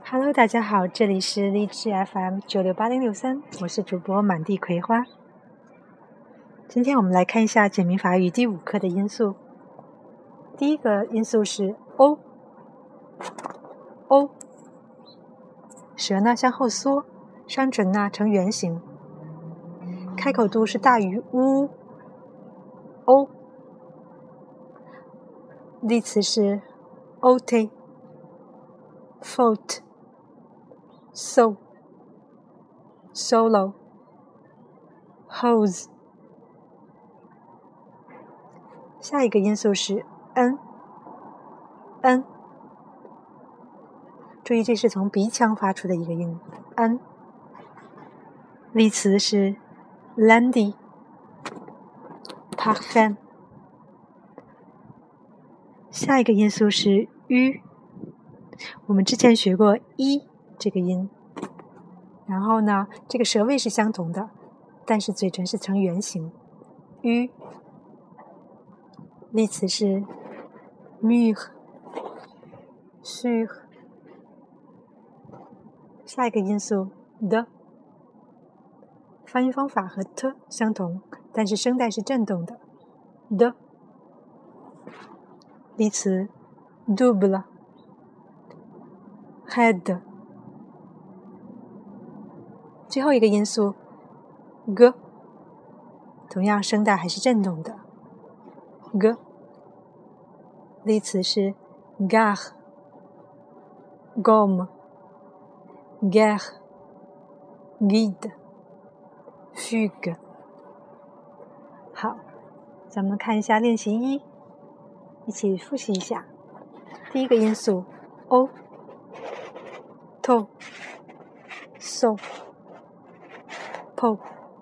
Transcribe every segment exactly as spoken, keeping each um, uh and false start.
Hello， 大家好，这里是荔枝 F M 九六八零六三，我是主播满地葵花。今天我们来看一下简明法语第五课的音素。第一个音素是 O， O， 舌呢向后缩，双唇呢呈圆形，开口度是大于 U。 O， 例词是 ôter faute So, solo, hose。 下一个音素是 n n， 注意这是从鼻腔发出的一个音 n。 例词是 lundi parfum。 下一个音素是 u， 我们之前学过 i 这个音，然后呢，这个舌位是相同的，但是嘴唇是呈圆形 u。 例词是 mûr sur。 下一个音素 de， 发音方法和 t 相同，但是声带是振动的 de。 例词 double head。 最后一个音素 g， 同样声带还是振动的 g。 例词是 gare gomme guerre guide fugue。 好，咱们看一下练习一，一起复习一下。第一个音素 o to so po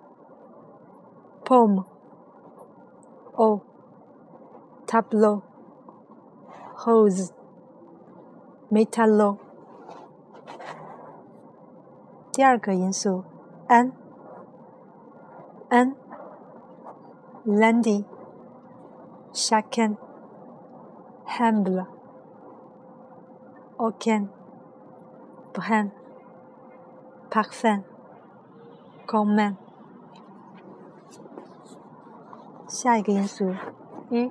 pomme o tableau hose métallo。 第二个音素 n n lundi chacun humble aucun brin parfum commun。 下一个音素 u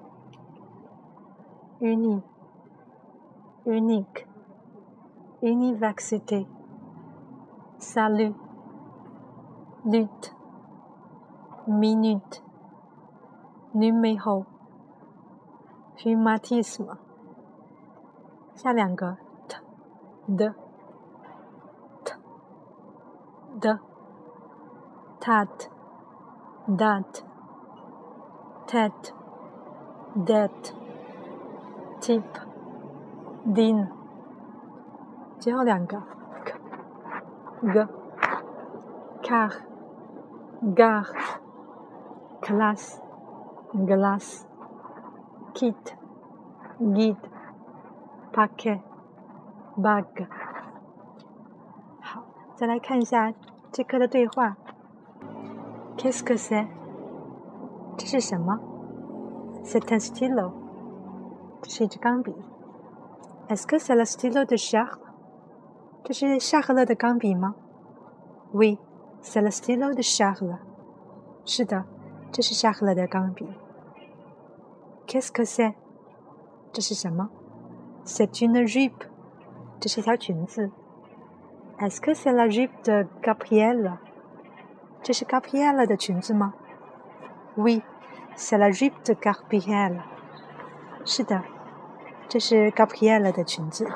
uni unique université salut lutte minute numéro rhumatisme。 下两个 t de t de tat date tête dette type din。 最后两个 k g car gare classe glace kit guide paquet bag。 好，再来看一下这课的对话。 Qu'est-ce que c'est？ 这是什么？ C'est un stylo， 这是一支钢笔。 Est-ce que c'est le stylo de Charles？ 这是夏赫勒的钢笔吗？ Oui, c'est le stylo de Charles。 是的，这是夏赫勒的钢笔。 Qu'est-ce que c'est？ 这是什么？ C'est une jupe， 这是一条裙子。 Est-ce que c'est la jupe de Gabrielle？ 这是 Gabrielle 的裙子吗？ Oui, c'est la jupe de Gabrielle。 是的，这是 Gabrielle 的裙子。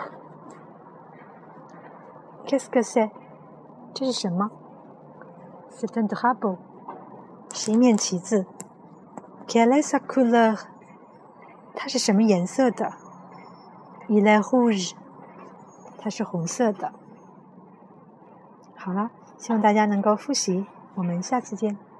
Qu'est-ce que c'est？ 这是什么？ C'est un drapeau， 是一面旗子。 Quelle est sa couleur？ 它是什么颜色的？ Il est rouge， 它是红色的。好了，希望大家能够复习，我们下次见。